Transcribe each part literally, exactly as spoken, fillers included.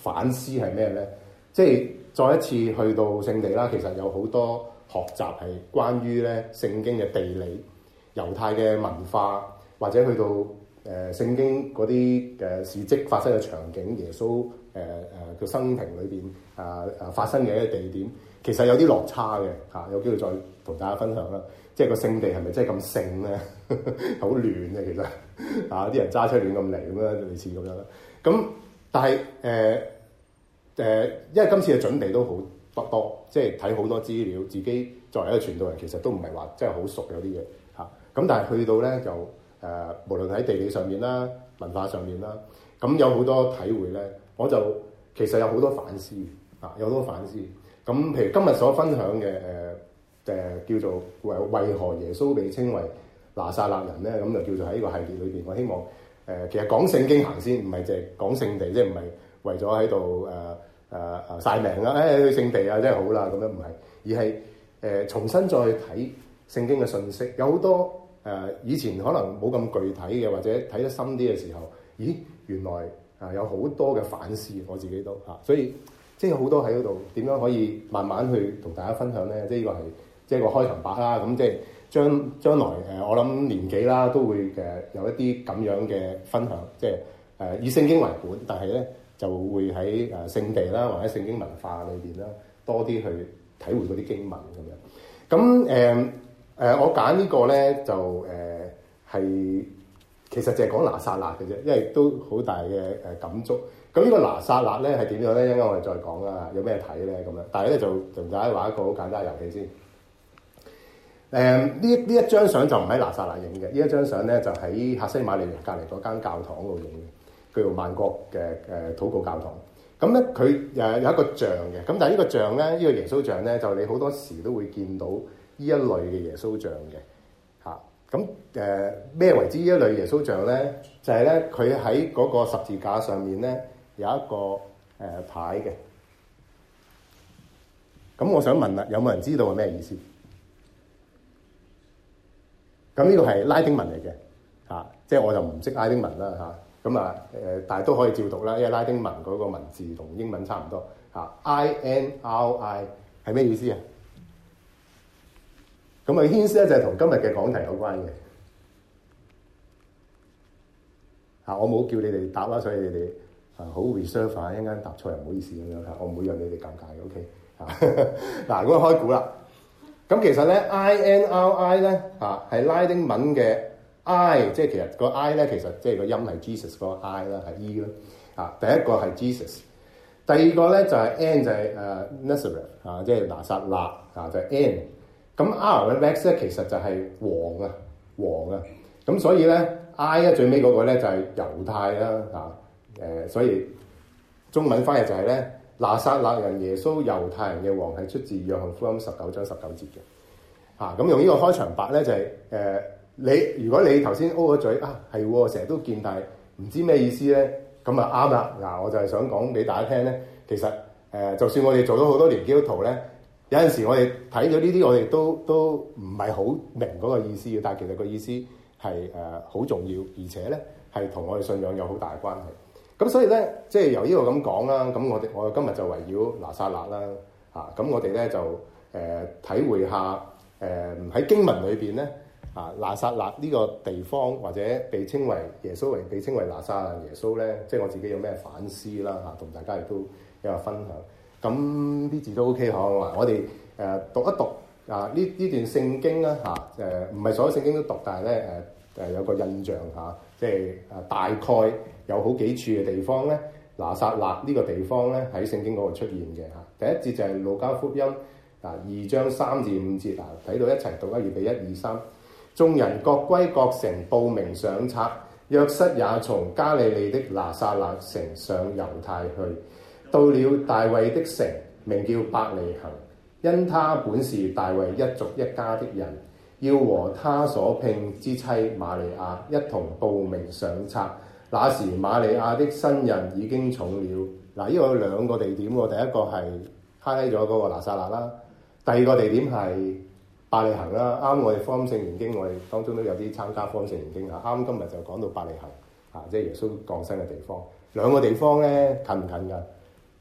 反思係咩咧？即係再一次去到聖地啦，其實有好多學習係關於咧聖經嘅地理、猶太嘅文化，或者去到誒、呃、聖經嗰啲嘅事蹟發生嘅場景，耶穌誒誒嘅生平裏邊啊啊發生嘅一啲地點，其實有啲落差嘅嚇、啊，有機會再同大家分享啦。即係個聖地係咪真係咁聖咧？好亂嘅其實啊，啲人揸車亂咁嚟咁樣，類似咁樣啦。咁但係誒誒，因為今次嘅準備都好多多，即係睇好多資料，自己作為一個傳道人，其實都唔係話真係好熟有啲嘢嚇。咁、啊、但係去到咧就誒、呃，無論喺地理上面啦、文化上面啦，咁有好多體會咧，我就其實有好多反思啊，有好多反思。咁譬如今日所分享嘅誒。呃誒、呃、叫做為為何耶穌被稱為拿撒勒人咧？咁就叫做喺呢個系列裏邊，我希望誒、呃、其實講聖經行先，唔係淨係講聖地，即係唔係為咗喺度誒誒誒曬命啦，誒、哎、去聖地啊，真係好啦，咁樣唔係，而係誒、呃、重新再睇聖經嘅信息，有好多誒、呃、以前可能冇咁具體嘅，或者睇得深啲嘅時候，咦原來啊有好多嘅反思，我自己都嚇、啊，所以即係有好多喺嗰度點樣可以慢慢去同大家分享咧？即係呢個係。即係個開場白啦，咁即係將將來誒、呃，我諗年紀啦都會誒有一啲咁樣嘅分享，即係誒、呃、以聖經為本，但係咧就會喺誒聖地啦，或者聖經文化裏邊啦，多啲去體會嗰啲經文咁樣。咁誒誒，我揀呢個咧就誒係、呃、其實就係講拿撒勒嘅啫，因為都好大嘅誒感觸。咁呢個拿撒勒咧係點樣咧？一陣間我哋再講啦，有咩睇咧咁樣。但係咧就同大家玩一個好簡單嘅遊戲先。誒呢呢一張相就唔喺拿撒勒影嘅，呢一張相咧就喺客西馬尼園隔離嗰間教堂度影嘅，叫做萬國嘅誒禱告教堂。咁咧佢誒有一個像嘅，咁但係呢個像咧，呢、呢個耶穌像咧，就你好多時都會見到呢一類嘅耶穌像嘅嚇。咁誒咩為之呢一類耶穌像咧？就係咧佢喺嗰個十字架上面咧有一個誒、呃、牌嘅。咁我想問啦，有冇人知道係咩意思？咁呢個係拉丁文嚟嘅，嚇、啊，即係我就唔識拉丁文啦，嚇。咁啊誒、呃，但係都可以照讀啦，因為拉丁文嗰個文字同英文差唔多，嚇、啊。I N R I 係咩意思啊？咁啊，hint 咧就係同今日嘅講題有關嘅。嚇、啊，我冇叫你哋答啦，所以你哋啊好 reserve 啊，一陣間答錯又唔好意思咁樣嚇，我唔會讓你哋尷尬嘅 ，OK 嚇。嗱，咁啊開估啦。咁其實咧 I N R I 咧嚇係拉丁文嘅 I， 即係其實個 I 咧其實即係個音係 Jesus 個 I 啦，係 E 啦嚇。第一個係 Jesus， 第二個咧就係 N 就係誒 Nazareth 嚇，即係拿撒勒嚇就係 N。咁 R 嘅 Rex 咧其實就係王啊王啊。咁所以咧 I 咧最尾嗰個咧就係猶太啦嚇誒，所以中文翻譯就係咧。拿撒勒人耶穌猶太人嘅王係出自約翰福音十九章十九節嘅嚇，咁、啊、用呢個開場白咧就係、是、誒、呃、你如果你頭先 O 咗嘴啊係成日都見，但係唔知咩意思咧，咁啊啱啦嗱，我就係想講俾大家聽咧，其實誒、呃、就算我哋做咗好多年基督徒咧，有陣時我哋睇咗呢啲，我哋都都唔係好明嗰個意思嘅，但係其實個意思係誒好重要，而且咧係同我哋信仰有好大嘅關係。咁所以咧，即係由呢個咁講啦。咁我哋我今日就圍繞拿撒勒啦，嚇、啊。咁我哋咧就誒、呃、體會下誒喺、呃、經文裏邊咧，啊拿撒勒呢個地方或者被稱為耶穌為被稱為拿撒勒耶穌咧，即係我自己有咩反思啦嚇，同、啊、大家亦都有個分享。咁啲字都 OK 嗬，我哋誒、呃、讀一讀啊呢呢段聖經啦嚇，誒唔係所有聖經都讀，但係咧誒誒有個印象嚇。啊即係誒大概有好幾處嘅地方咧，拿撒勒呢個地方咧喺聖經嗰度出現嘅嚇。第一節就係路加福音嗱二章三至五節嗱，睇到一齊讀啦，預備一二三。眾人各歸各城報名上冊，約瑟也從加利利的拿撒勒城上猶太去，到了大衛的城，名叫伯利恆，因他本是大衛一族一家的人。要和他所聘之妻瑪利亞一同報名上冊。那時瑪利亞的身孕已經重了。嗱，呢個有兩個地點喎。第一個係揩咗嗰個拿撒勒啦，第二個地點係伯利恆啦。啱我哋福音聖言經，我哋當中都有啲參加福音聖言經啊。啱今日就講到伯利恆啊，即係耶穌降生嘅地方。兩個地方咧近唔近㗎？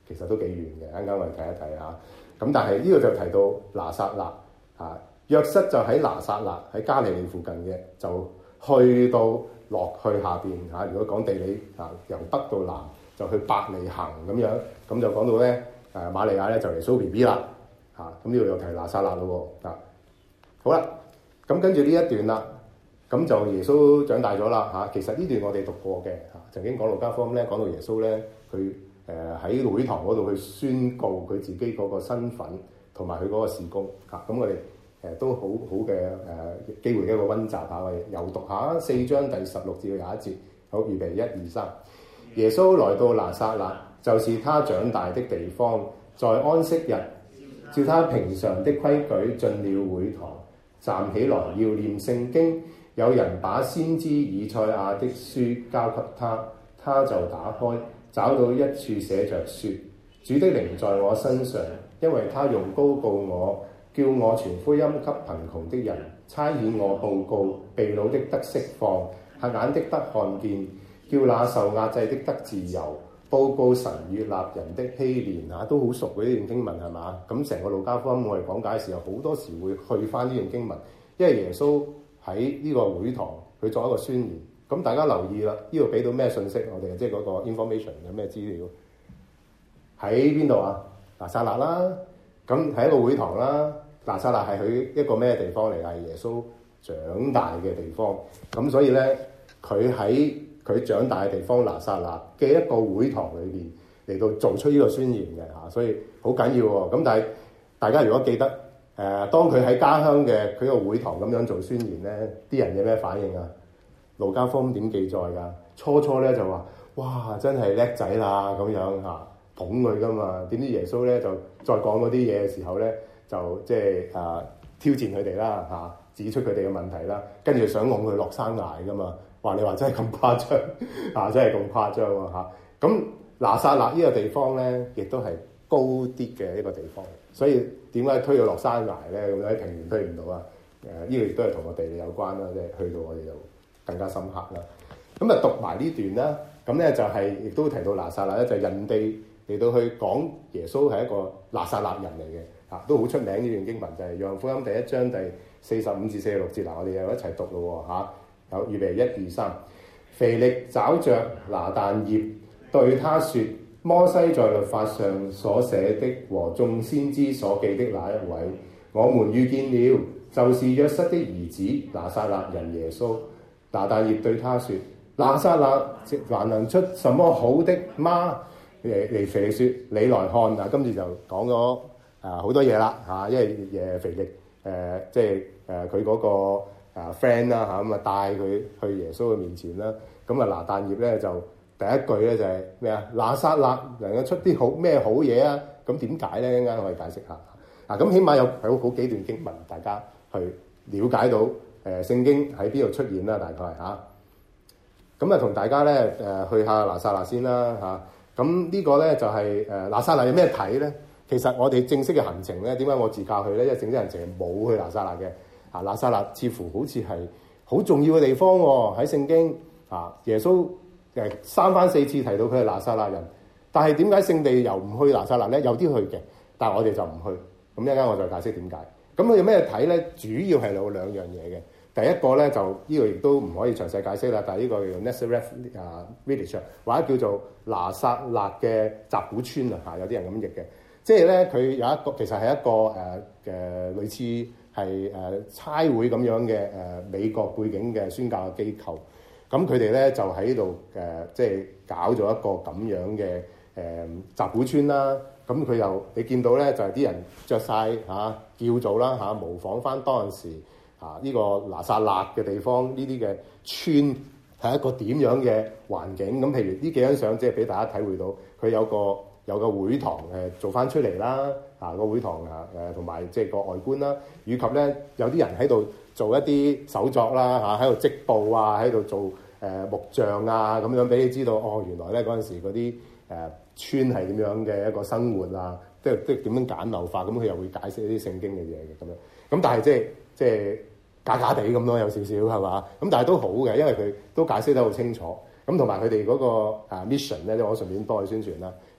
其實都幾遠嘅。啱啱我哋睇一睇嚇。咁但係呢個就提到拿撒勒啊，約瑟就喺拿撒勒喺加利利附近嘅，就去到落去下邊嚇。如果講地理啊，由北到南就去伯利恆咁樣，咁就講到咧誒瑪利亞咧就嚟蘇 B B 啦嚇。咁呢度又提拿撒勒咯喎啊。好啦，咁跟住呢一段啦，咁就耶穌長大咗啦嚇。其實呢段我哋讀過嘅嚇，曾經講路加福音咧講到耶穌咧佢。誒喺會堂嗰度去宣告佢自己嗰個身份同埋佢嗰個事工嚇，咁、啊、我哋誒、呃、都好好嘅誒機會嘅一個溫習下，我哋又讀下四章第十六至到廿一節。好，預備一二三。耶穌來到拿撒勒，就是他長大的地方，在安息日，照他平常的規矩進了會堂，站起來要念聖經。有人把先知以賽亞的書交給他，他就打開。找到一處寫着說：主的靈在我身上，因為他用膏膏我，叫我傳福音給貧窮的人，差遣我報告被擄的得釋放，瞎眼的得看見，叫那受壓制的得自由，報告神悅納人的禧年。嚇，都好熟嗰啲段經文係嘛？咁成個路加福音我哋講解嘅時候，好多時會去翻呢段經文，因為耶穌喺呢個會堂佢作一個宣言。咁大家留意啦，呢度俾到咩信息我哋？即係嗰個 information 有咩資料？喺邊度啊？拿撒勒啦，咁喺一個會堂啦。拿撒勒係佢一個咩地方嚟？係耶穌長大嘅地方。咁所以咧，佢喺佢長大嘅地方拿撒勒嘅一個會堂裏邊嚟到做出呢個宣言嘅嚇，所以好緊要喎。咁但係大家如果記得誒、呃，當佢喺家鄉嘅佢個會堂咁樣做宣言咧，啲人有咩反應啊？路加福音點記載㗎？初初咧就話：哇，真係叻仔啦咁樣嚇，捧佢㗎嘛。點知耶穌咧就再講嗰啲嘢嘅時候咧，就即係啊挑戰佢哋啦嚇，指出佢哋嘅問題啦，跟住想拱佢落山崖㗎嘛。話你話真係咁誇張啊！真係咁誇張喎嚇。咁拿撒勒呢個地方咧，亦都係高啲嘅一個地方，所以點解推佢落山崖咧？咁喺平原推唔到啊？誒、呃，呢、這個亦都係同個地理有關啦，即係去到我哋就更加深刻啦。咁啊，讀埋呢段啦。咁咧就係、是、亦都提到拿撒勒咧，就係、人哋嚟到去講耶穌係一個拿撒勒人嚟嘅嚇，都好出名呢段經文，就係、是《約翰福音》第一章第四十五至四十六節。嗱，我哋又一齊讀咯喎嚇。有預備一二三。腓力找着拿但業，對他說：摩西在律法上所寫的和眾先知所記的那一位，我們遇見了，就是約瑟的兒子拿撒勒人耶穌。拿但業對他說：拿撒勒還能出什麼好的嗎？嚟嚟腓力說：你來看。嗱，今次就講咗啊好多嘢啦嚇，因為誒腓力誒即係誒佢嗰個。啊 friend 啦嚇，咁啊帶佢去耶穌嘅面前啦。咁啊拿但業咧就第一句咧就係咩啊？拿撒勒能夠出啲好咩好嘢啊？咁點解咧？一陣間可以解釋下。嗱、啊、咁起碼有有好幾段經文，大家去了解到誒、呃、聖經喺邊度出現啦。大概嚇。咁啊同大家咧誒、呃、去下拿撒勒先啦嚇。咁、啊、呢個咧就係誒拿撒勒有咩睇咧？其實我哋正式嘅行程咧，點解我自駕去咧？因為正式行程係冇去拿撒勒嘅。啊，拿撒勒似乎好似係好重要嘅地方喎，喺聖經啊，耶穌誒三番四次提到佢係拿撒勒人，但係點解聖地又唔去拿撒勒咧？有啲去嘅，但係我哋就唔去。咁一陣間我再解釋點解。咁佢有咩睇咧？主要係有兩樣嘢嘅。第一個咧就呢、這個亦都唔可以詳細解釋啦，但係呢個叫 Nazareth 啊 Village 或者叫做拿撒勒嘅集古村啊，嚇有啲人咁譯嘅，即係咧佢有一個其實係一個誒誒、呃、類似。係誒、呃、差會咁樣嘅誒、呃、美國背景嘅宣教嘅機構，咁佢哋咧就喺度誒即係搞咗一個咁樣嘅誒集古村啦。咁佢又你見到咧就係、是、啲人着晒嚇叫做啦嚇、啊，模仿翻當陣時嚇呢、啊這個拿撒勒嘅地方呢啲嘅村係一個點樣嘅環境。咁譬如呢幾張相即係俾大家體會到佢有個。有個會堂誒做翻出嚟啦，啊個會堂啊誒同埋即係個外觀啦，以及咧有啲人喺度做一啲手作啦嚇，喺度織布啊，喺度做誒、呃、木匠啊咁樣，俾你知道哦，原來咧嗰陣時嗰啲誒村係點樣嘅一個生活啊，即係即係點樣簡陋化，咁佢又會解釋一啲聖經嘅嘢嘅咁樣，咁但係即係即係假假地咁咯，有少少係嘛，咁但係都好嘅，因為佢都解釋得好清楚，咁同埋佢哋嗰個 mission 咧，我順便幫佢宣傳啦。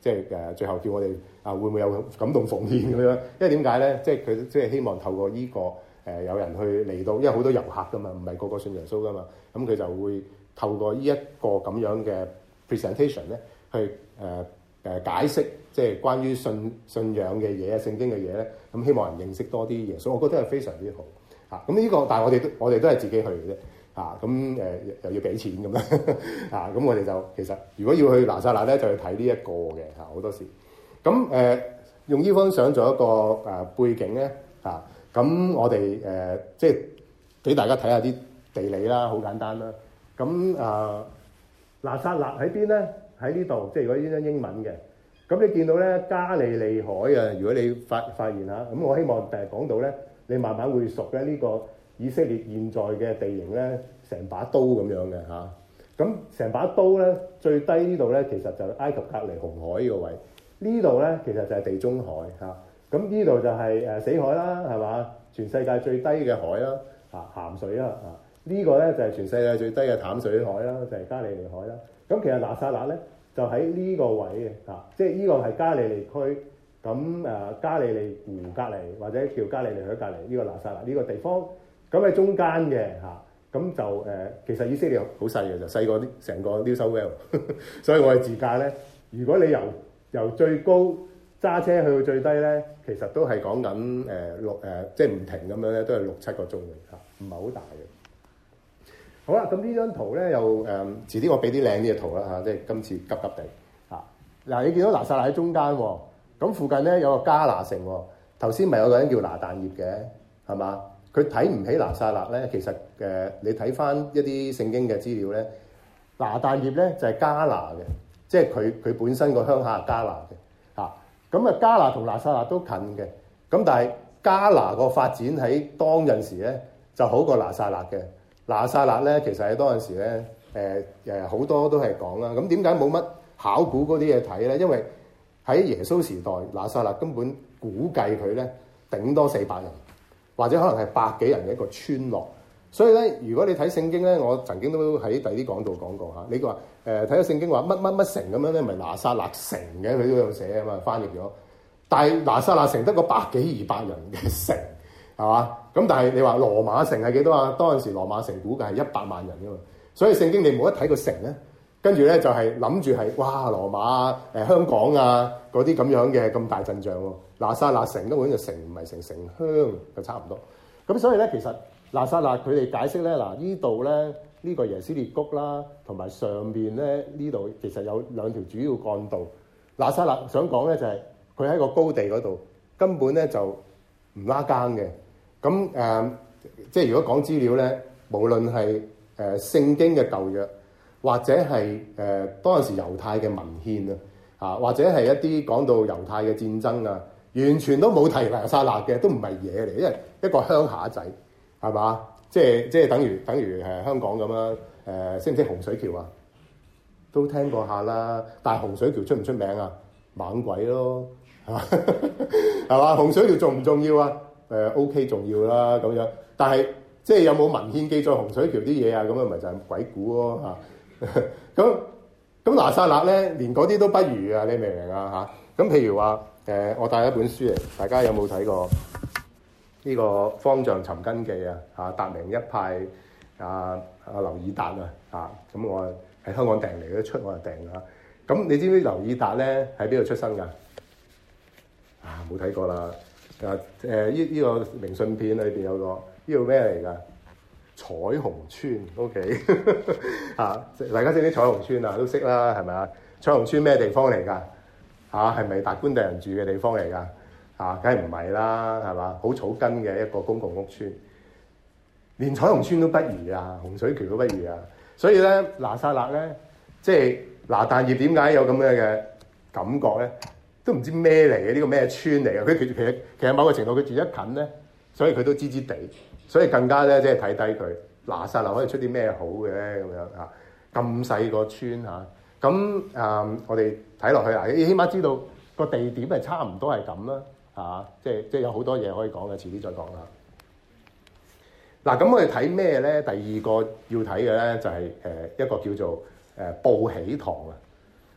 即係誒最後叫我哋啊會唔會有感動奉獻咁樣？因為點解咧？即係佢即係希望透過呢、這個誒、呃、有人去嚟到，因為好多遊客噶嘛，唔係個個信耶穌噶嘛，咁佢就會透過呢一個咁樣嘅 presentation 咧，去誒誒、呃呃、解釋即係關於信信仰嘅嘢、聖經嘅嘢咧，咁希望人認識多啲耶穌，我覺得係非常之好嚇。咁、啊、呢、這個但係我哋都我哋都係自己去嘅啫。啊，咁誒、呃、又要俾錢咁樣啊，咁我哋就其實如果要去拿撒勒咧，就去睇呢一個嘅嚇好多時。咁誒、呃、用呢張相做一個誒、呃、背景咧嚇，咁、啊、我哋誒、呃、即係俾大家睇下啲地理啦，好簡單啦。咁啊，拿撒勒喺邊咧？喺呢度，即係如果呢張英文嘅。咁你見到咧加利利海啊，如果你發發現下，咁我希望誒講到咧，你慢慢會熟咧呢、這個。以色列現在嘅地形咧，成把刀咁樣嘅嚇，咁、啊、成把刀咧最低呢度咧，其實就埃及隔離紅海呢個位，呢度咧其實就係地中海嚇，咁呢度就係誒死海啦，係嘛？全世界最低嘅海啦，嚇鹹水啦，啊、這個、呢個咧就係、是、全世界最低嘅淡水海啦，就係、是、加利利海啦。咁其實拿撒勒咧就喺呢個位嘅嚇、啊，即係呢個係加利利區，咁誒、啊、加利利湖隔離或者叫加利利海隔離呢、這個拿撒勒呢個地方。咁喺中間嘅嚇，咁就誒、呃，其實以色列好細嘅，就細過啲成個 New South Wales，所以我哋自駕咧，如果你由由最高揸車去到最低咧，其實都係講緊誒六誒，即係唔停咁樣咧，都係六七個鐘嘅嚇，唔係好大嘅。好啦，咁呢張圖咧又誒，遲啲我俾啲靚啲嘅圖啦嚇，即係今次急急地嚇。嗱、啊，你見到拿撒勒喺中間喎，咁附近咧有個迦拿城喎，頭先咪有個人叫拿但業嘅，係嘛？佢睇唔起拿撒勒咧，其實誒、呃、你睇翻一啲聖經嘅資料咧，拿但業咧就係、是、迦拿嘅，即係佢佢本身個鄉下係迦拿嘅嚇。咁啊迦拿同拿撒勒都近嘅，咁但係迦拿個發展喺當陣時咧就好過拿撒勒嘅。拿撒勒咧其實喺當陣時咧誒誒好多都係講啦。咁點解冇乜考古嗰啲嘢睇咧？因為喺耶穌時代，拿撒勒根本估計佢咧頂多四百人。或者可能係百幾人嘅一個村落，所以咧，如果你睇聖經咧，我曾經都喺第啲講道講過嚇。你話誒睇咗聖經話乜乜乜城咁樣咧，咪拿撒勒城嘅，佢都有寫啊嘛，翻譯咗。但係拿撒勒城得個百幾二百人嘅城，係嘛？咁但係你話羅馬城係幾多啊？當陣時羅馬城估計係一百萬人噶嘛，所以聖經你冇得睇個城咧，跟住咧就係諗住係哇羅馬啊、誒、呃、香港啊嗰啲咁樣嘅咁大陣仗喎。拿撒勒城根本就城唔係城，城鄉就差唔多。咁所以咧，其實拿撒勒佢哋解釋咧，嗱呢度咧呢、呢個耶斯列谷啦，同埋上邊咧呢度其實有兩條主要幹道。拿撒勒想講咧就係佢喺個高地嗰度，根本咧就唔拉更嘅。咁誒、呃，即係如果講資料咧，無論係誒、呃、聖經嘅舊約，或者係誒、呃、當陣時猶太嘅文獻啊，啊或者係一啲講到猶太嘅戰爭啊。完全都冇提拿撒勒嘅，都唔係嘢嚟，因為一個鄉下仔係嘛？即係即係等於等於誒香港咁啦。誒、呃、識唔識洪水橋啊？都聽過下啦。但係洪水橋出唔出名啊？猛鬼咯，係嘛？係嘛？洪水橋重唔重要啊？誒、呃、OK 重要啦咁樣。但係即係有冇文獻記載洪水橋啲嘢啊？咁樣咪就係鬼故咯嚇。咁咁拿撒勒咧，連嗰啲都不如啊！你明唔明啊？嚇咁譬如話。誒、呃，我帶一本書嚟，大家有冇睇過呢、這個《方丈尋根記》啊？嚇，達明一派啊，阿劉以達啊，嚇，咁我喺香港訂嚟，都出我就訂啦。咁你知唔知劉以達咧喺邊度出生㗎？啊，冇睇過啦。啊誒，呢、呃、呢、這個明信片裏邊有個呢個咩嚟㗎？彩虹村 ，OK 嚇，大家識啲彩虹村啊？都識啦，係咪啊？彩虹村咩地方嚟㗎？嚇，係咪達官第人住嘅地方嚟㗎？嚇，梗係唔係啦，係嘛？好草根嘅一個公共屋邨，連彩虹村都不如啊，洪水橋都不如啊。所以咧，拿撒勒咧，即係拿但業點解有咁樣嘅感覺咧？都唔知咩嚟嘅，呢個咩村嚟嘅？佢其實其實某個程度佢住得近咧，所以佢都知知地，所以更加咧即係睇低佢。拿撒勒可以出啲咩好嘅咧？咁樣嚇，咁細個村嚇。咁誒、嗯，我哋睇落去啊，你起碼知道個地點係差唔多係咁啦，嚇，即係即係有好多嘢可以講嘅，遲啲再講啦。嗱，咁我哋睇咩咧？第二個要睇嘅咧就係、是、誒一個叫做誒報喜堂啊。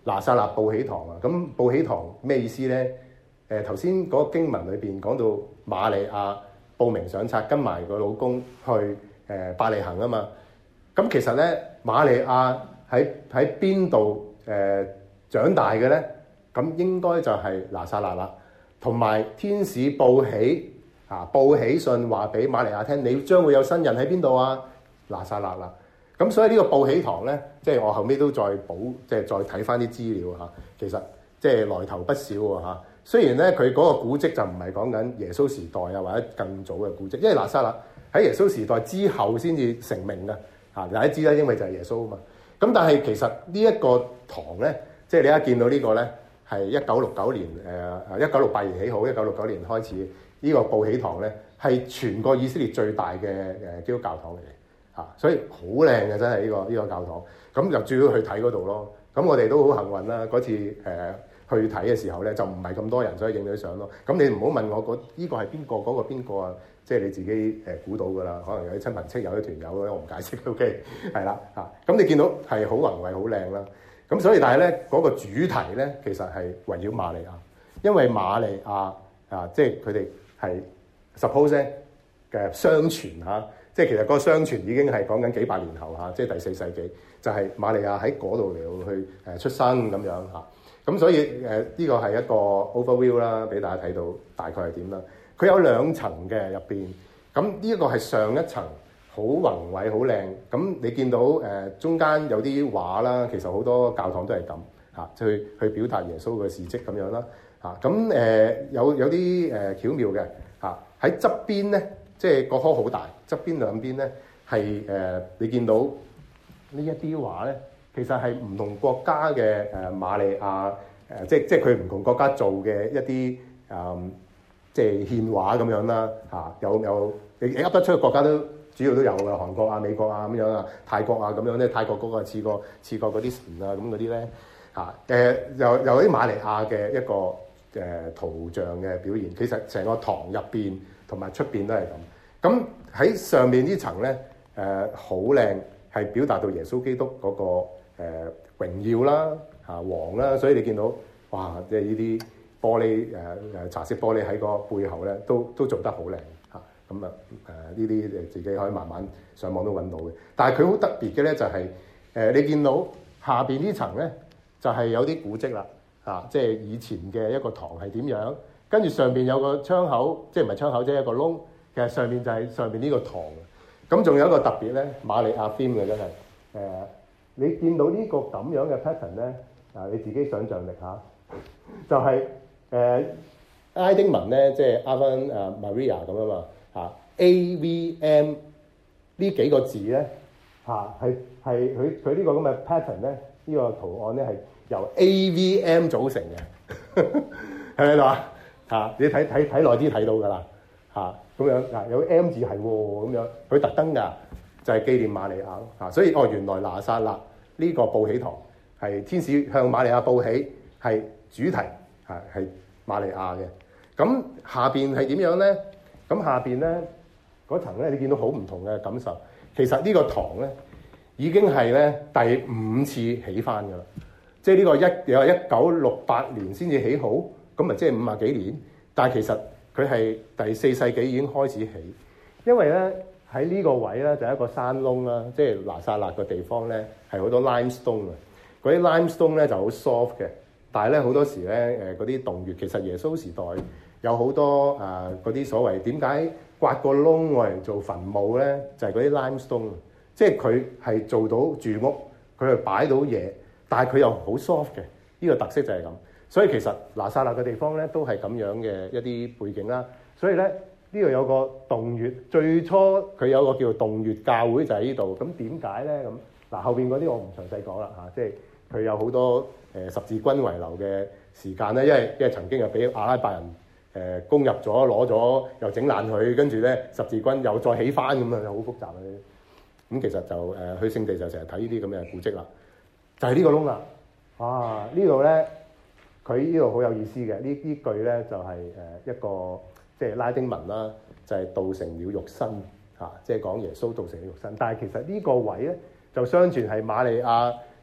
拿撒勒報喜堂啊。咁報喜堂咩意思咧？誒頭先嗰個經文裏邊講到瑪利亞報名上冊，跟埋個老公去誒伯利恆啊嘛。咁其實咧，瑪利亞喺喺邊度誒長大嘅咧？咁應該就係拿撒勒啦。同埋天使報喜啊，報喜信話俾瑪利亞聽，你將會有新人喺邊度啊？拿撒勒啦。咁所以呢個報喜堂咧，即係我後尾都再補，即係再睇翻啲資料嚇。其實即係來頭不少喎嚇。雖然咧佢嗰個古蹟就唔係講緊耶穌時代啊，或者更早嘅古蹟，因為拿撒勒喺耶穌時代之後先至成名嘅嚇。大家知啦，因為就係耶穌啊嘛。咁但係其實呢一個堂咧，即係你一見到呢個咧，係一九六九年誒誒一九六八年起好，一九六九年開始呢個報喜堂咧，係全個以色列最大嘅誒基督教堂嚟嘅嚇，所以好靚嘅真係呢個呢個教堂。咁就主要去睇嗰度咯。咁我哋都好幸運啦，嗰次誒。呃去睇嘅時候咧，就唔係咁多人，所以影到相咯。咁你唔好問我嗰依個係邊個，嗰個邊個啊？即係你自己誒估到㗎啦。可能有啲親朋戚友、啲團友咧，我唔解釋。OK，係啦嚇。咁你見到係好宏偉、好靚啦。咁所以但係咧嗰個主題咧，其實係圍繞瑪利亞，因為瑪利亞啊，即係佢哋係 suppose 嘅相傳嚇，即係其實個相傳已經係講緊幾百年後嚇，即係第四世紀，就係瑪利亞喺嗰度嚟去誒出生咁樣嚇。咁所以誒呢、呃這個係一個 overview 啦，俾大家睇到大概係點啦。佢有兩層嘅入邊，咁呢一個係上一層，好宏偉、好靚。咁你見到誒、呃、中間有啲畫啦，其實好多教堂都係咁嚇，去去表達耶穌嘅事蹟咁樣啦嚇。咁、啊、誒、呃、有有啲誒、呃、巧妙嘅嚇，喺側邊咧，即係個棵好大，側邊兩邊咧係誒你見到呢一啲畫咧。其實係唔同國家嘅誒瑪利亞誒、呃，即係即係佢唔同國家做嘅一啲誒、嗯，即係獻畫咁樣啦嚇、啊。有有你噏得出嘅國家都主要都有㗎，韓國啊、美國啊咁樣啊、泰國啊咁樣咧。泰國嗰個似過似過嗰啲神啊咁嗰啲咧嚇誒，又有啲瑪利亞嘅一個誒、呃、圖像嘅表現。其實成個堂入邊同埋出邊都係咁。咁喺上面層呢層咧誒好靚，係、呃、表達到耶穌基督嗰、那個。誒、呃、榮耀啦嚇、啊、王啦，所以你見到哇，即係呢啲玻璃誒誒、呃、茶色玻璃喺個背後咧，都都做得好靚嚇。咁啊誒呢啲誒自己可以慢慢上網都揾到嘅。但係佢好特別嘅咧，就係、是、誒、呃、你見到下邊呢層咧，就係、是、有啲古蹟啦嚇，即係以前嘅一個堂係點樣，跟住上邊有個窗口，即係唔係窗口即係一個窿，其實上邊就係上邊呢個堂。咁仲有一個特別咧，瑪利亞 theme 嘅真係誒。呃你見到呢個咁樣嘅 pattern 咧，啊你自己想像力嚇，就係、是、誒、呃、拉丁文咧，即係 Ave Maria 咁啊嘛嚇 ，A V M 呢幾個字咧嚇係係佢佢呢個咁嘅 pattern 咧，呢、這個圖案咧係由 A V M 組成嘅，係咪啊嚇？你睇睇睇耐啲睇到㗎啦嚇，咁樣嗱有 M 字係喎咁樣，佢特登㗎。就係紀念瑪利亞咯嚇，所以哦原來拿撒勒呢個報喜堂係天使向瑪利亞報喜，係主題係係瑪利亞嘅。咁下邊係點樣咧？咁下邊咧嗰層咧，你見到好唔同嘅感受。其實呢個堂咧已經係咧第五次起翻㗎啦，即係呢個一有一九六八年先至起好，咁咪即係五啊幾年。但係其實佢係第四世紀已經開始起，因為咧。喺呢個位咧就係一個山窿啦，即係拿撒勒個地方咧係好多 limestone 啊，嗰啲 limestone 咧就好 soft 嘅，但係咧好多時咧誒嗰啲洞穴，其實耶穌時代有好多誒嗰啲所謂點解刮個窿我嚟做墳墓咧，就係嗰啲 limestone，即係佢係做到住屋，佢係擺到嘢，但係佢又好 soft 嘅，呢個特色就係咁。所以其實拿撒勒嘅地方咧都係咁樣嘅一啲背景啦，所以咧。呢度有個洞穴，最初佢有個叫做洞穴教會就喺呢度。咁點解咧？咁嗱後邊嗰啲我唔詳細講啦嚇，即係佢有好多誒、呃、十字軍遺留嘅時間咧，因為因為曾經又俾阿拉伯人誒、呃、攻入咗，攞咗又整爛佢，跟住咧十字軍又再起翻咁啊，好複雜啊！咁其實就誒、呃、去聖地就成日睇呢啲咁嘅古蹟啦，就係、是、呢個窿啦。啊呢度咧，佢呢度好有意思嘅，呢呢句咧就係、是、誒一個。即係拉丁文啦，就係、是、道成了肉身嚇，即係講耶穌道成了肉身。但係其實呢個位咧，就相傳係瑪利亞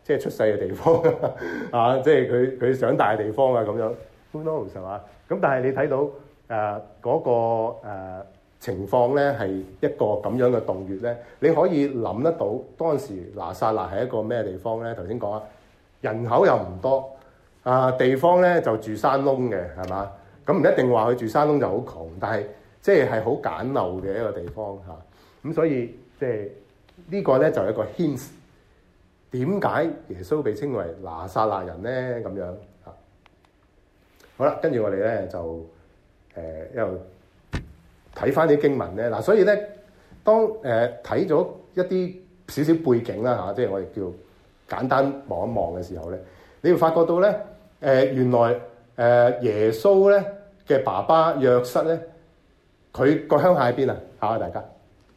即係出世嘅地方啊，即係佢佢長大嘅地方啊咁樣。Who knows 係嘛？咁但係你睇到誒嗰、呃那個、呃、情況咧，係一個咁樣嘅洞穴咧，你可以諗得到當時拿撒勒係一個咩地方咧？頭先講啊，人口又唔多啊，地方咧就住山窿嘅係嘛？咁唔一定話佢住山窿就好窮，但係即係係好簡陋嘅一個地方嚇。咁、啊、所以即係呢個咧就係一個 hint，點解耶穌被稱為拿撒勒人咧？咁樣嚇。好啦，跟住我哋咧就誒一路睇翻啲經文咧。嗱，所以咧當誒睇咗一啲少少背景啦嚇，即係我哋叫簡單望一望嘅時候咧，你會發覺到咧誒、呃、原來誒、呃、耶穌咧嘅爸爸約瑟咧，佢個鄉下喺邊啊？考下大家。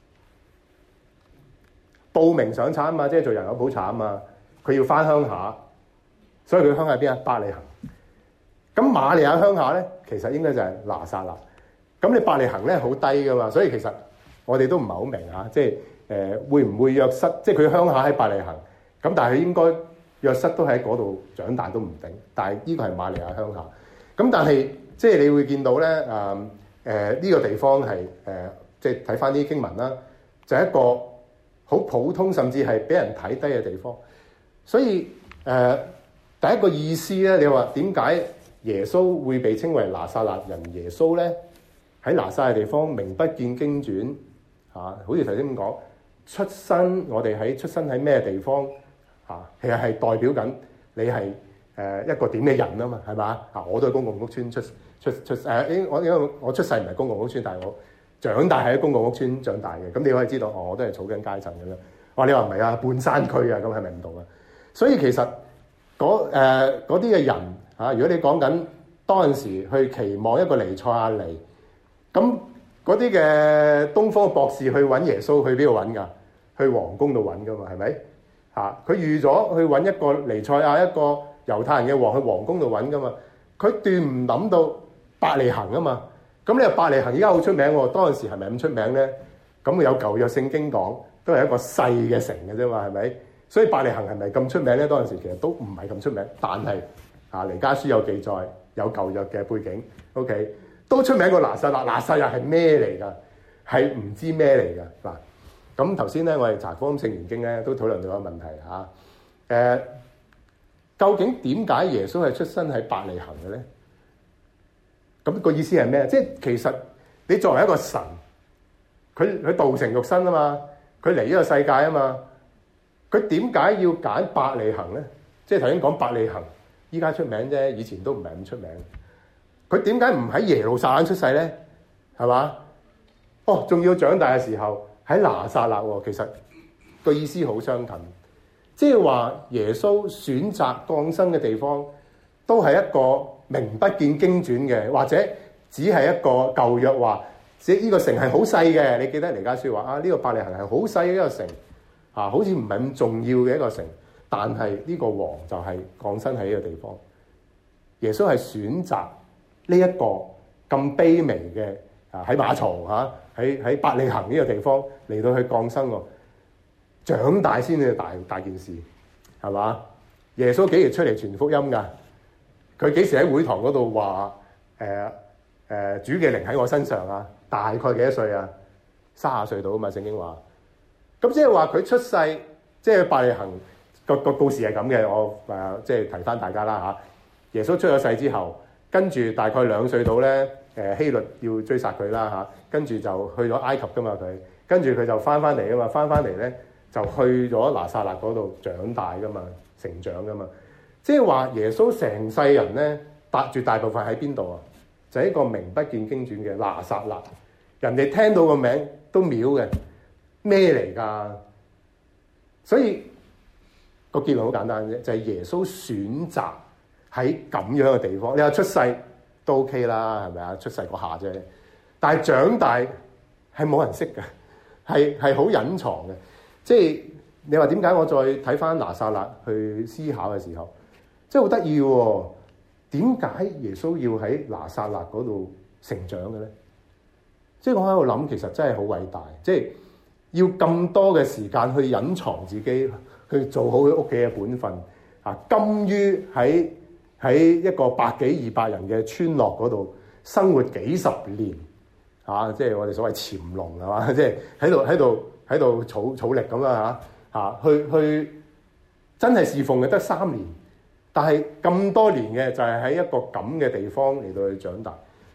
報名上產啊嘛，即係做人口普查啊嘛，佢要翻鄉下，所以佢鄉下喺邊啊？伯利恆。咁瑪利亞鄉下咧，其實應該就係拿撒勒。咁你伯利恆咧好低噶嘛，所以其實我哋都唔係好明嚇，即係誒、呃、會唔會約瑟？即係佢鄉下喺伯利恆，咁但係佢應該約瑟都喺嗰度長大都唔定。但係呢個係瑪利亞鄉下。咁但係即係你會見到咧，誒誒呢個地方係誒、呃、即係睇翻啲經文啦，就係、是、一個好普通，甚至係俾人睇低嘅地方。所以誒、呃、第一個意思咧，你話點解耶穌會被稱為拿撒勒人耶穌咧？喺拿撒勒地方名不見經傳嚇、啊，好似頭先咁講，出生我哋喺出生喺咩地方嚇、啊，其實係代表緊你係誒、呃、一個點嘅人啊嘛，係嘛嚇？我都係公共屋邨出出出誒、呃，我因為我出世唔係公共屋邨，但係我長大喺公共屋邨長大嘅，咁你可以知道，哦，我都係草根階層咁樣。哇，你話唔係啊？半山區啊，咁係咪唔同啊？所以其實嗰啲嘅人嚇、啊，如果你講緊當陣時去期望一個彌賽亞嚟，咁嗰啲嘅東方博士去揾耶穌，去邊度揾㗎？去皇宮度揾㗎嘛，係咪嚇？佢預咗去揾一個彌賽亞，一個猶太人嘅王，去皇宮度揾㗎嘛。佢斷唔諗到伯利恆啊嘛。咁你話伯利恆而家好出名喎，當陣時係咪咁出名咧？咁有舊約聖經講，都係一個細嘅城嘅啫嘛，係咪？所以伯利恆係咪咁出名咧？當陣時其實都唔係咁出名，但係啊，彌迦書有記載，有舊約嘅背景 ，OK， 都出名過拿撒勒。拿撒勒係咩嚟㗎？係唔知咩嚟㗎嗱。咁頭先咧，我哋查福音聖言經咧，都討論到一個問題嚇。誒、啊，究竟點解耶穌係出生喺伯利恆嘅咧？咁個意思係咩？即係其實你作為一個神，佢佢道成肉身啊嘛，佢嚟呢個世界啊嘛，佢點解要揀伯利恆咧？即係頭先講伯利恆，依家出名啫，以前都唔係咁出名。佢點解唔喺耶路撒冷出世咧？係嘛？哦，仲要長大嘅時候喺拿撒勒喎。其實個意思好相近，即係話耶穌選擇降生嘅地方都係一個名不見經傳嘅，或者只係一個舊約話，即係呢個城係好細嘅。你記得彌迦書話啊，呢、這個伯利恆係好細嘅一個城，啊，好似唔係咁重要嘅一個城。但係呢個王就係降生喺呢個地方。耶穌係選擇呢一個咁卑微嘅啊，喺馬槽嚇，喺喺伯利恆呢個地方嚟到去降生喎，長大先至大大件事，係嘛？耶穌幾時出嚟傳福音㗎？佢幾時喺會堂嗰度話誒誒主嘅靈喺我身上啊？大概幾多歲啊？三十歲到啊嘛，聖經話。咁即係話佢出世，即係伯利恆個個故事係咁嘅。我誒、呃、即係提翻大家啦嚇。耶穌出咗世之後，跟住大概兩歲到咧，誒希律要追殺佢啦嚇，跟住就去咗埃及噶嘛佢，跟住佢就翻翻嚟啊嘛，翻翻嚟咧就去咗拿撒勒嗰度長大噶嘛，成長噶嘛。即係話耶穌成世人咧，大絕大部分喺邊度啊？就係一個名不見經傳嘅拿撒勒。人哋聽到個名都秒嘅，咩嚟㗎？所以個結論好簡單啫，就係耶穌選擇喺咁樣嘅地方。你話出世都 OK 啦，係咪啊？出世嗰下啫，但係長大係冇人識嘅，係係好隱藏嘅。即係你話點解我再睇翻拿撒勒去思考嘅時候，即係好得意喎？點解耶穌要喺拿撒勒嗰度成長嘅咧？即係我喺度諗，其實真係好偉大，即係要咁多嘅時間去隱藏自己， 去做好佢屋企嘅本分啊，甘於喺喺一個百幾二百人嘅村落嗰度生活幾十年啊，即係我哋所謂潛龍係嘛，即係喺度喺度喺度儲儲力咁啦嚇嚇，去去真係侍奉嘅得三年，但係咁多年嘅就係喺一個咁嘅地方嚟到去長大。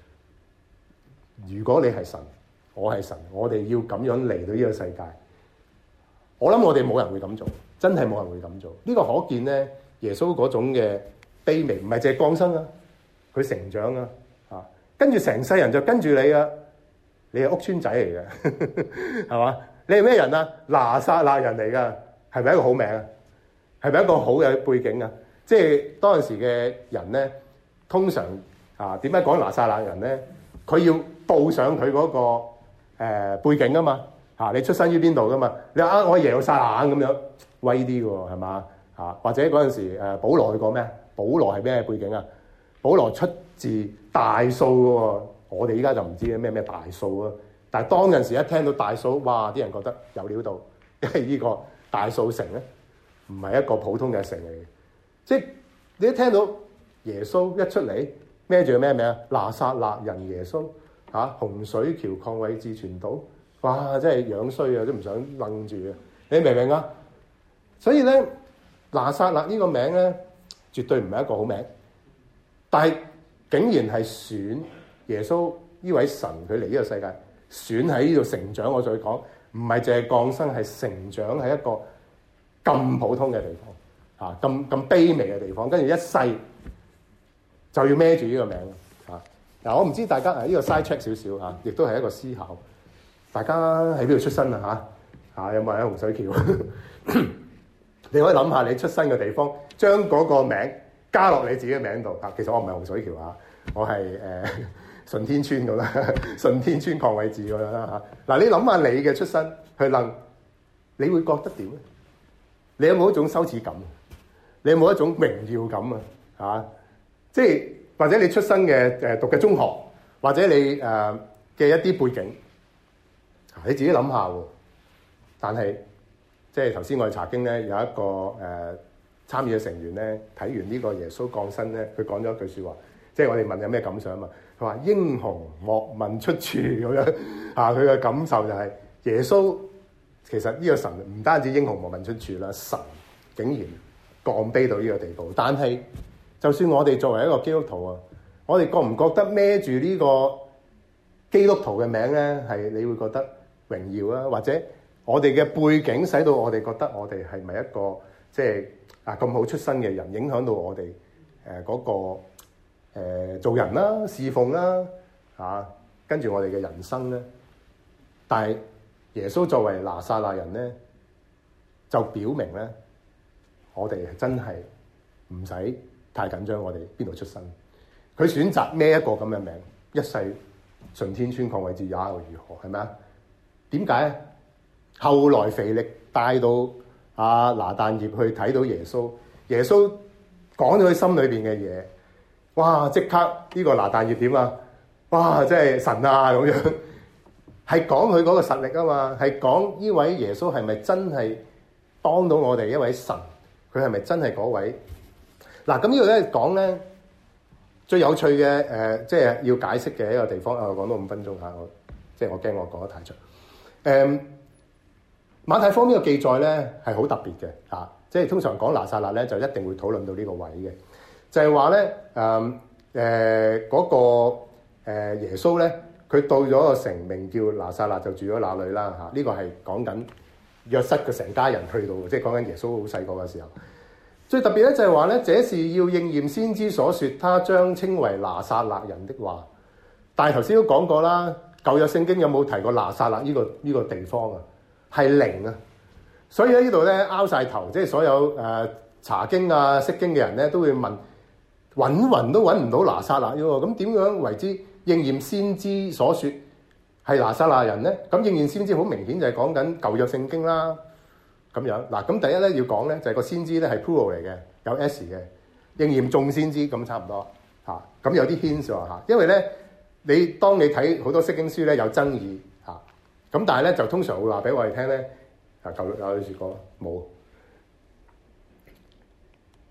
如果你係神，我係神，我哋要咁樣嚟到呢個世界，我諗我哋冇人會咁做，真係冇人會咁做。呢個可見咧，耶穌嗰種嘅卑微，唔係淨係降生啊，佢成長啊，啊，跟住成世人就跟住你啊，你係屋村仔嚟嘅，係嘛？你係咩人啊？拿撒勒人嚟噶，係咪一個好名啊？係咪一個好嘅背景啊？即係當陣時嘅人咧，通常啊，點解講拿撒勒人咧？佢要報上佢嗰、那個、呃、背景啊嘛，嚇、啊、你出身於邊度噶嘛？你話啊，我係耶路撒冷咁樣威啲嘅喎，係嘛？嚇、啊、或者嗰陣時誒，保羅去過咩？保羅係咩背景啊？保羅出自大數嘅喎，我哋依家就唔知咩咩大數啊。但係當陣時一聽到大數，哇！啲人覺得有料到，因為呢個大數城咧，唔係一個普通嘅城嚟嘅，即係你一聽到耶穌一出嚟。孭住咩名啊？拿撒勒人耶穌嚇、啊，洪水橋鄺偉志傳道，哇！真係樣衰啊，都唔想愣住啊！你明唔明啊？所以咧，拿撒勒呢個名咧，絕對唔係一個好名，但係竟然係選耶穌呢位神佢嚟呢個世界，選喺呢度成長。我再講，唔係淨係降生，係成長喺一個咁普通嘅地方嚇，咁、啊、咁卑微嘅地方，跟住一世。就要孭住呢個名啊！嗱，我唔知大家啊，呢個 side check 少少嚇，亦都係一個思考。大家喺邊度出身啊？嚇嚇有冇喺洪水橋？你可以諗下你出生嘅地方，將嗰個名加落你自己嘅名度。啊，其實我唔係洪水橋啊，我係誒順天村咁啦，順天村鄺偉志咁樣啦嚇。嗱，你諗下你嘅出身去諗，你會覺得點咧？你有冇一種羞恥感？你有冇一種榮耀感啊？嚇！即係或者你出生嘅誒讀嘅中學，或者你誒嘅、呃、一啲背景，你自己諗下喎。但係即係頭先我哋查經咧，有一個誒、呃、參與嘅成員咧，睇完呢個耶穌降生咧，佢講咗一句説話，即係我哋問有咩感想啊嘛？佢話英雄莫問出處咁樣啊，佢嘅感受就係、是、耶穌其實呢個神唔單止英雄莫問出處啦，神竟然降卑到呢個地步，但係。就算我哋作為一個基督徒啊，我哋覺唔覺得孭住呢個基督徒嘅名咧，係你會覺得榮耀啊？或者我哋嘅背景使到我哋覺得我哋係咪一個即係啊咁好出身嘅人，影響到我哋誒嗰個、呃、做人啦、侍奉啦嚇，跟住我哋嘅人生咧？但係耶穌作為拿撒勒人咧，就表明咧，我哋真係唔使太緊張，我哋邊度出身？佢選擇孭一個咁嘅名，一世順天村鄺偉志也又如何？係咪啊？點解啊？後來腓力帶到阿拿但業去睇到耶穌，耶穌講咗佢心裏邊嘅嘢，哇！即刻呢個拿但業點啊？哇！真係神啊咁樣，係講佢嗰個實力啊嘛，係講呢位耶穌係咪真係幫到我哋一位神？佢係咪真係嗰位？嗱，咁呢度咧講咧最有趣嘅誒、呃，即係要解釋嘅一個地方。我講多五分鐘嚇，我即係我驚我講得太長。誒、嗯，馬太福音呢個記載咧係好特別嘅嚇，即係通常講拿撒勒咧就一定會討論到呢個位嘅，就係話咧誒誒嗰個、呃、耶穌咧，佢到咗個城名叫拿撒勒，就住咗那裡啦嚇。呢、這個係講緊約瑟嘅成家人去到，即係講緊耶穌好細個嘅時候。最特別咧就係話咧，這是要應驗先知所說，他將稱為拿撒勒人的話。但係頭先都講過啦，舊約聖經有冇提過拿撒勒呢、這個呢、這個地方啊？係零啊！所以喺呢度咧拗晒頭，即係所有誒、呃、查經啊、釋經嘅人咧都會問，揾勻都揾唔到拿撒勒喎。咁點樣為之應驗先知所說係拿撒勒人咧？咁應驗先知好明顯就係講緊舊約聖經啦。咁樣嗱，咁第一咧要講咧就係、是、個先知咧係 plural 嚟嘅，有 s 嘅應驗眾先知咁差唔多嚇。咁、啊、有啲 hint 喎嚇，因為咧你當你睇好多釋經書咧有爭議嚇，咁、啊、但係咧就通常會話俾我哋聽咧啊，舊約有句説過冇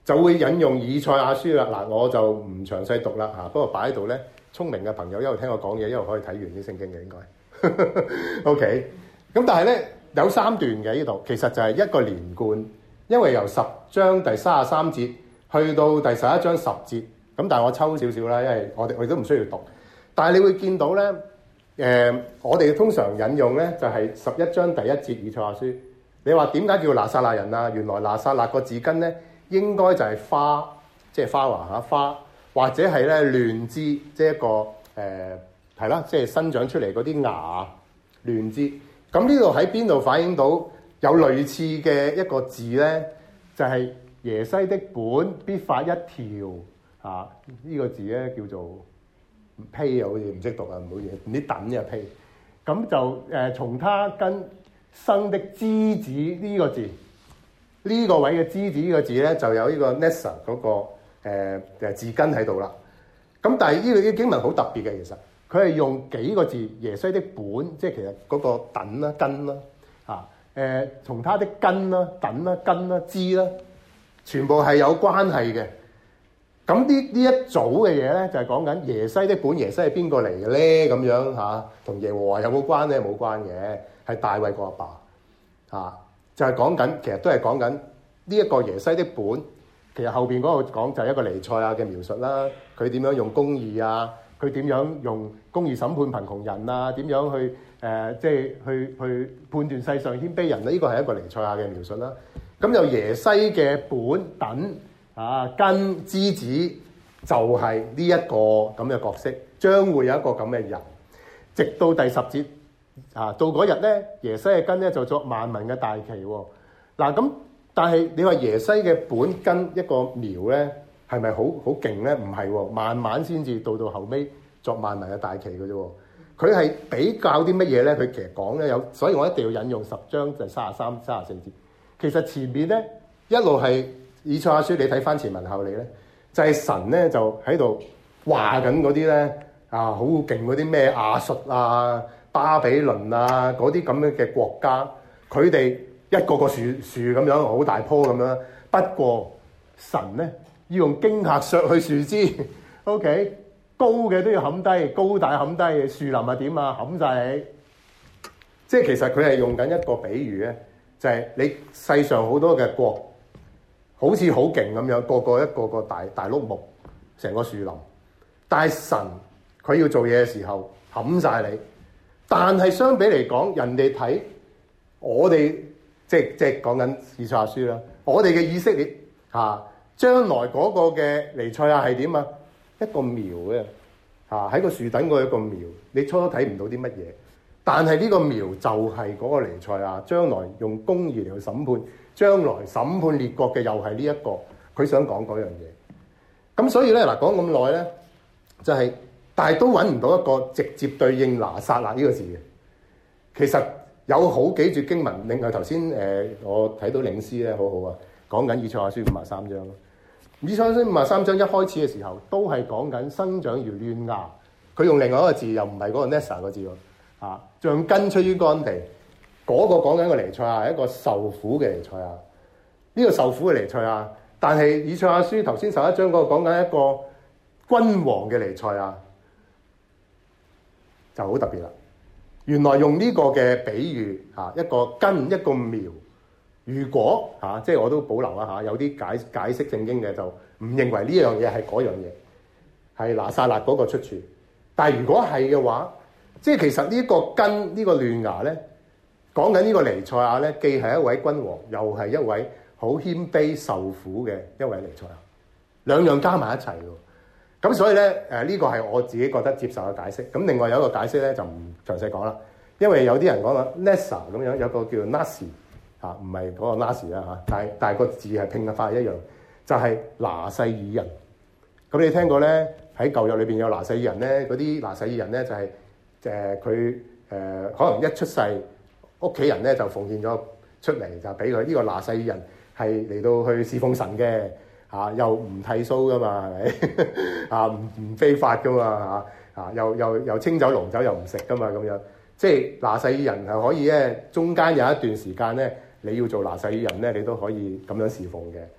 就會引用以賽亞書啦。嗱，我就唔詳細讀啦嚇，不過擺喺度咧，聰明嘅朋友一路聽我講嘢，一路可以睇完啲聖經嘅應該。OK， 咁但係咧有三段嘅呢度，其實就係一個連貫，因為由十章第三十三節去到第十一章十節，咁但係我抽少少啦，因為我哋我哋都唔需要讀。但係你會見到咧，誒、呃，我哋通常引用咧就係十一章第一節以賽亞書。你話點解叫拿撒勒人啊？原來拿撒勒個字根咧應該就係花，即係花華嚇花，或者係咧嫩枝，即係一個誒係啦，即係生長出嚟嗰啲芽嫩枝。咁呢度喺邊度反映到有類似嘅一個字咧？就係、是、耶西的本必發一條啊！呢、這個字咧叫做披啊，好似唔識讀啊，唔好嘢，唔知等嘅披。咁就誒、呃、從他根生的枝子呢個字，呢、這個位嘅枝子呢個字咧就有呢個 Nessa 嗰、那個誒、呃、字根喺度啦。咁但係呢個啲經文好特別嘅，其實佢係用幾個字，耶西的本，即係其實嗰個等啦、根啦，啊誒從他的根啦、等啦、根啦、枝啦，全部係有關係嘅。咁呢呢一組嘅嘢咧，就係講緊耶西的本。耶西係邊個嚟嘅咧？咁樣嚇，同耶和華有冇關咧？冇關嘅，係大衛個阿爸嚇。就係講緊，其實都係講緊呢一個耶西的本。其實後邊嗰個講就係一個彌賽亞嘅描述啦。佢點樣用公義啊？佢點樣用公義審判貧窮人啊？點樣去誒，即係去去判斷世上謙卑人咧？呢個係一個彌賽亞嘅描述啦。咁有耶西嘅本等。啊，根枝子就係呢一個咁嘅角色，將會有一個咁嘅人，直到第十節啊，到嗰日咧，耶西嘅根咧就作萬民嘅大旗喎。嗱咁，但係你話耶西嘅本根一個苗咧，係咪好好勁咧？唔係喎，慢慢先至到到後尾作萬民嘅大旗嘅啫。佢係比較啲乜嘢咧？佢其實講咧有，所以我一定要引用十章就三十三、三十四節。其實前面咧一路係。以賽亞書你睇翻前文後理咧，就係、是、神咧就喺度話緊嗰啲咧啊好勁嗰啲咩亞述啊、巴比倫啊嗰啲咁樣嘅國家，佢哋一個個樹樹咁樣好大棵咁樣。不過神咧要用驚嚇削去樹枝 ，OK 高嘅都要冚低，高大冚低，樹林係點啊？冚晒你。即係其實佢係用緊一個比喻咧，就係、是、你世上好多嘅國。好似好勁咁樣，個個一個個大大碌木，成個樹林。但係神佢要做嘢嘅時候冚晒你。但係相比嚟講，人哋睇我哋即係即係講緊以賽亞書啦。我哋嘅以色列嚇，將來嗰個嘅彌賽亞係點啊？一個苗嘅嚇，喺個樹頂嗰一個苗，你初初睇唔到啲乜嘢。但係呢個苗就係嗰個彌賽亞，將來用公義嚟去審判。將來審判列國嘅又係呢一個，佢想講嗰樣嘢。咁所以咧嗱，講咁耐咧，就係、是，但係都揾唔到一個直接對應拿撒勒呢個字嘅。其實有好幾節經文，另外頭先誒我睇到領詩咧，好好啊，講緊以賽亞書五十三章咯。以賽亞書五十三章一開始嘅時候，都係講緊生長如嫩芽。佢用另外一個字，又唔係嗰個 Nessa 個字喎，啊，像根出於乾地。嗰個講緊個彌賽亞係一個受苦嘅彌賽亞，呢個受苦嘅彌賽亞，但係以賽亞書頭先十一章嗰個講緊一個君王嘅彌賽亞，就好特別啦。原來用呢個嘅比喻嚇，一個根一個苗，如果嚇即係我都保留一下，有啲解解釋聖經嘅就唔認為呢樣嘢係嗰樣嘢，係拿撒勒嗰個出處。但係如果係嘅話，即係其實呢個根呢個嫩芽咧。講緊呢個彌賽亞咧，既係一位君王，又係一位好謙卑受苦嘅一位彌賽亞，兩樣加埋一齊喎。咁所以咧，誒、這、呢個係我自己覺得接受嘅解釋。咁另外有一個解釋咧，就唔詳細講啦，因為有啲人講啦 Nessa 咁樣，有個叫做 Nasi 嚇，唔係嗰個 Nasi 啦嚇，但係但係個字係拼嘅法一樣，就係、是、拿細耳人。咁你聽過咧，喺舊約裏邊有拿細耳人咧，嗰啲拿細耳人咧就係誒佢誒可能一出世。屋企人咧就奉獻咗出嚟，就俾佢呢個拿細耳人係嚟到去侍奉神嘅嚇、啊，又唔剃鬚噶嘛，係咪啊？唔唔非法噶嘛嚇啊！又又又清酒濃酒又唔食噶嘛咁樣，即係拿細耳人係可以咧，中間有一段時間咧，你要做拿細耳人咧，你都可以咁樣侍奉嘅。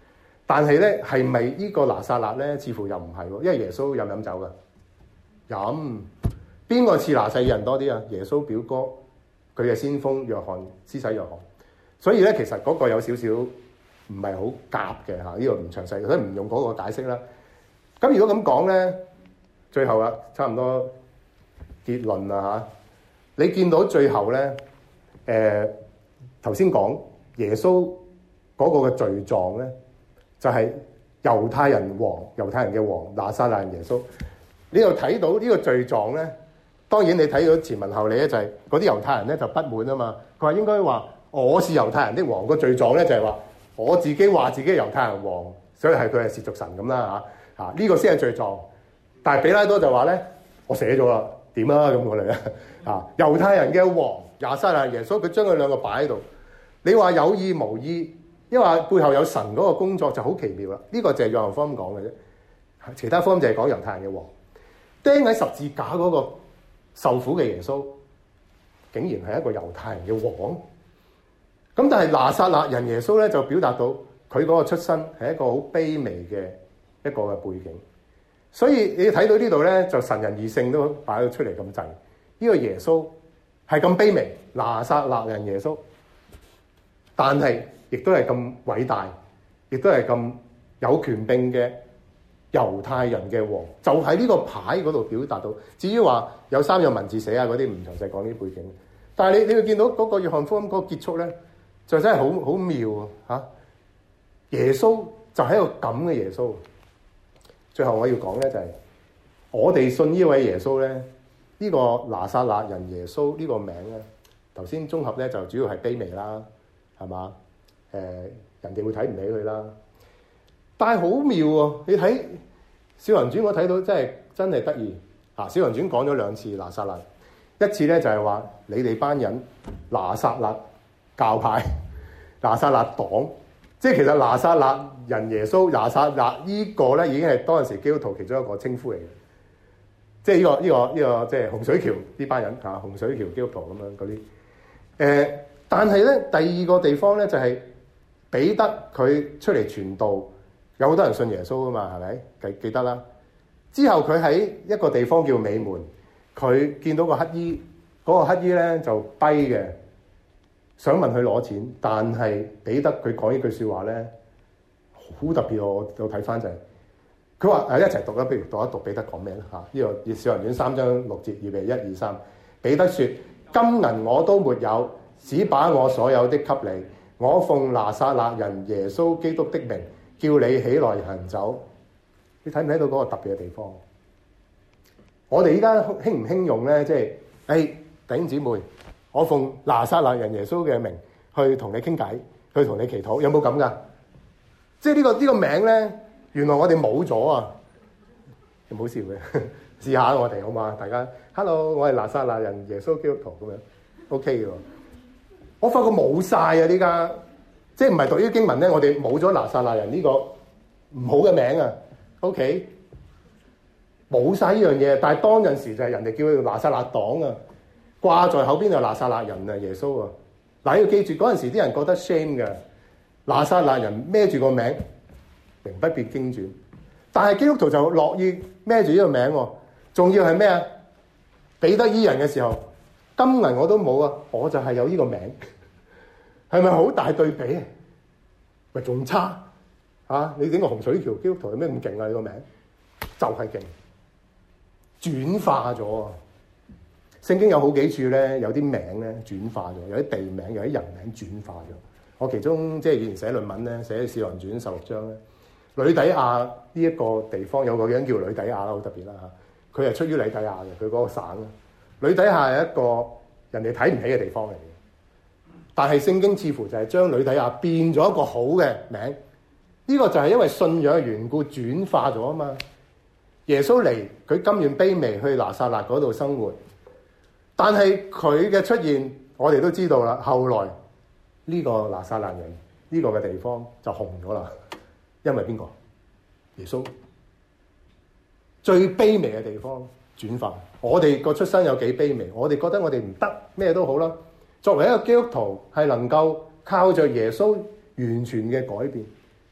但係咧係咪呢個拿撒勒咧？似乎又唔係喎，因為耶穌飲唔飲酒㗎？飲。邊個似拿細耳人多啲啊？耶穌表哥，佢嘅先鋒約翰，施洗約翰。所以咧，其實嗰個有少少唔係好夾嘅嚇，呢、這個唔詳細，所以唔用嗰個解釋啦。咁如果咁講咧，最後啦，差唔多結論啦嚇。你見到最後咧，誒頭先講耶穌嗰個嘅罪狀咧，就係、是、猶太人王，猶太人嘅王拿撒勒人耶穌。你又睇到呢個罪狀咧，當然你睇到前文後理咧，就係嗰啲猶太人咧就不滿啊嘛。佢話應該話我是猶太人的王，個罪狀咧就係話我自己話自己係猶太人王，所以係佢係褻瀆神咁啦嚇嚇，呢個先係罪狀。但係比拉多就話咧，我寫咗啦，點啊咁我哋咧啊，猶太人嘅王拿撒勒耶穌，佢將佢兩個擺喺度。你話有意無意，因為背後有神嗰個工作就好奇妙啦。呢、這個就係約翰福音講嘅啫，其他福音就係講猶太人嘅王。釘喺十字架嗰個受苦嘅耶穌，竟然係一個猶太人嘅王。咁但係拿撒勒人耶穌咧，就表達到佢嗰個出身係一個好卑微嘅一個嘅背景。所以你睇到呢度咧，就神人二性都擺咗出嚟咁滯。呢、這個耶穌係咁卑微，拿撒勒人耶穌，但係亦都係咁偉大，亦都係咁有權柄嘅猶太人嘅王，就喺呢個牌嗰度表達到。至於話有三樣文字寫啊嗰啲，唔詳細講啲背景。但係你你會見到嗰個約翰福音嗰個結束咧，就真係好好妙啊！嚇，耶穌就係一個咁嘅耶穌。最後我要講咧就係、是，我哋信呢位耶穌咧，呢、這個拿撒勒人耶穌呢個名咧，頭先綜合咧就主要係卑微啦，係嘛？誒、呃，人哋會睇唔起佢啦。但係好妙喎！你睇《使徒行傳》，我睇到真係真係得意啊！《使徒行傳》講咗兩次拿撒勒，一次咧就係話你哋班人拿撒勒教派、拿撒勒黨。即係其實拿撒勒人耶穌、拿撒勒呢個咧已經係當陣時基督徒其中一個稱呼嚟嘅。即係呢個呢個呢個即係洪水橋呢班人嚇，洪水橋基督徒咁樣嗰啲。誒，但係咧第二個地方咧就係彼得佢出嚟傳道，有好多人信耶穌啊嘛，係咪？記記得啦。之後佢喺一個地方叫美門，佢見到個乞衣，嗰個乞衣咧就跛嘅。想問佢攞錢，但係彼得佢講呢句説話咧，好特別。我我睇翻就係、是，佢話誒一齊讀啦，不如讀一讀彼得講咩啦嚇？呢、這個《使徒行傳》三章六節，預備一二三。彼得説：金銀我都沒有，只把我所有的給你。我奉拿撒勒人耶穌基督的名，叫你起來行走。你睇唔睇到嗰個特別嘅地方？我哋依家興唔興用咧？即係誒弟兄姊妹。我奉拿撒勒人耶穌嘅名去同你傾偈，去同你祈禱，有冇咁噶？即係呢個呢個名咧，原來我哋冇咗啊！唔好笑嘅，試下我哋好嘛？大家 ，hello，我係拿撒勒人耶穌基督徒咁樣 ，OK 嘅喎。我發覺冇晒啊！呢家即係唔係讀呢啲經文咧？我哋冇咗拿撒勒人呢個唔好嘅名啊 ，OK，冇晒呢樣嘢。但係當陣時就係人哋叫佢拿撒勒黨啊。掛在口邊就拿撒勒人啊，耶穌啊！嗱，要記住嗰陣時啲人覺得 shame 嘅，拿撒勒人孭住個名，名不必經傳。但係基督徒就樂意孭住呢個名喎，仲要係咩啊？彼得醫人嘅時候，金銀我都冇啊，我就係有呢個名，係咪好大對比啊？咪仲差啊！你整個洪水橋基督徒有咩咁勁啊？你個名就係勁，轉化咗啊！聖經有好幾處咧，有啲名咧轉化咗，有啲地名，有啲人名轉化咗。我其中即係以前寫論文咧，寫《使徒行傳》十六章咧，呂底亞呢一個地方有個人叫呂底亞啦，好特別啦嚇。佢係出於呂底亞嘅，佢嗰個省啦。呂底亞係一個人哋睇唔起嘅地方嚟嘅，但係聖經似乎就係將呂底亞變咗一個好嘅名。呢個就係因為信仰嘅緣故轉化咗啊嘛。耶穌嚟，佢甘願卑微去拿撒勒嗰度生活。但係佢嘅出現，我哋都知道啦。後來呢個拿撒勒人呢個嘅地方就紅咗啦，因為邊個？耶穌最卑微嘅地方轉化。我哋個出身有幾卑微，我哋覺得我哋唔得，咩都好啦。作為一個基督徒，係能夠靠着耶穌完全嘅改變。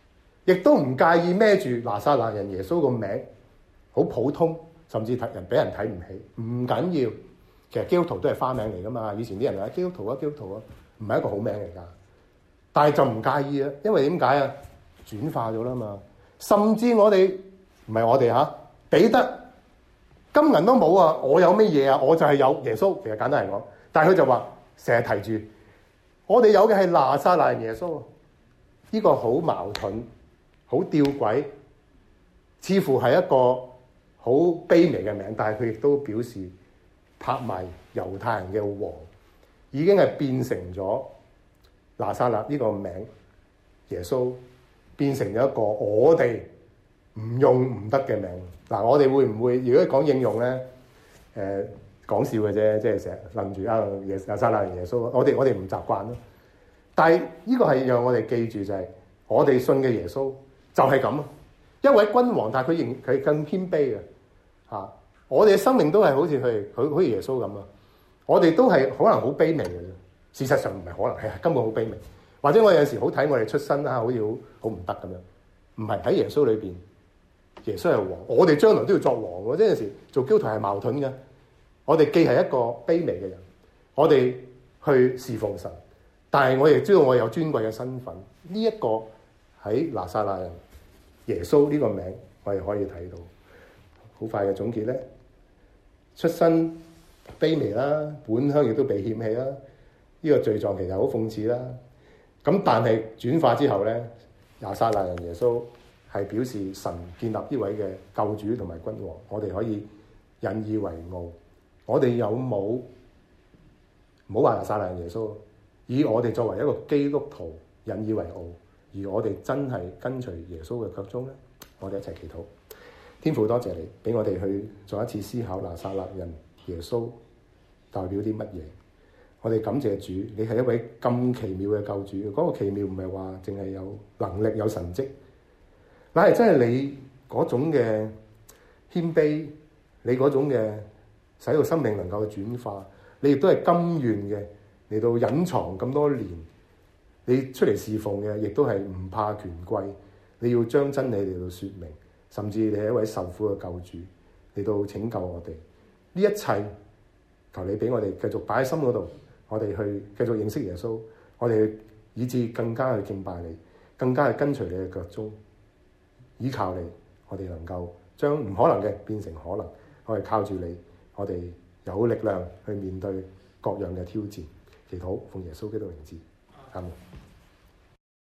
亦都唔介意孭住拿撒勒人耶穌個名，好普通，甚至睇人俾人睇唔起，唔緊要。其實基督徒都係花名嚟噶嘛，以前啲人話基督徒啊，基督徒啊，唔係一個好名嚟噶。但係就唔介意啊，因為點解啊？轉化咗啦嘛。甚至我哋唔係我哋嚇，彼得金銀都冇啊，我有乜嘢啊？我就係有耶穌。其實簡單嚟講，但係佢就話成日提住我哋有嘅係拿撒勒人耶穌。呢個好矛盾，好吊詭，似乎係一個好卑微嘅名，但係佢亦都表示拍賣猶太人嘅王，已經係變成咗拿撒勒呢個名，耶穌變成咗一個我哋唔用唔得嘅名。嗱，我哋會唔會如果講應用咧？誒、呃、講笑嘅啫，即係成日諗住啊耶拿撒勒人耶穌，我哋我哋唔習慣咯。但係呢個係讓我哋記住就係、是、我哋信嘅耶穌就係咁，一位君王，但係佢仍佢更謙卑嘅嚇、啊。我哋嘅生命都係好似佢，佢好似耶穌咁啊！我哋都係可能好卑微嘅啫。事實上唔係可能，係根本好卑微。或者我有陣時好睇我哋出身啊，好似好好唔得咁樣。唔係喺耶穌裏邊，耶穌係王，我哋將來都要作王喎。即係有陣時做基督徒係矛盾嘅。我哋既係一個卑微嘅人，我哋去侍奉神。但係我亦知道我有尊貴嘅身份，呢、這、一個喺拿撒勒人耶穌呢個名，我哋可以睇到。好快嘅總結咧，出身卑微啦，本鄉亦都被嫌棄啦，呢、這個罪狀其實好諷刺啦。咁但係轉化之後咧，拿撒勒人耶穌係表示神建立呢位嘅救主同埋君王，我哋可以引以為傲。我哋有冇唔好話拿撒勒人耶穌？以我哋作為一個基督徒引以為傲，而我哋真係跟隨耶穌嘅腳蹤咧，我哋一齊祈禱。天父，多謝你俾我哋去做一次思考，拿撒勒人耶穌代表啲乜嘢？我哋感謝主，你係一位咁奇妙嘅救主。嗰、那個奇妙唔係話淨係有能力有神蹟，乃係真係你嗰種嘅謙卑，你嗰種嘅使到生命能夠轉化，你亦都係甘願嘅。嚟到隱藏咁多年，你出嚟侍奉嘅，亦都係唔怕權貴。你要將真理嚟到説明，甚至你係一位受苦嘅救主，嚟到拯救我哋。呢一切，求你俾我哋繼續擺喺心嗰度，我哋去繼續認識耶穌，我哋以致更加去敬拜你，更加去跟隨你嘅腳蹤，依靠你，我哋能夠將唔可能嘅變成可能。我哋靠住你，我哋有力量去面對各樣嘅挑戰。祈禱奉耶穌基督名字，阿門。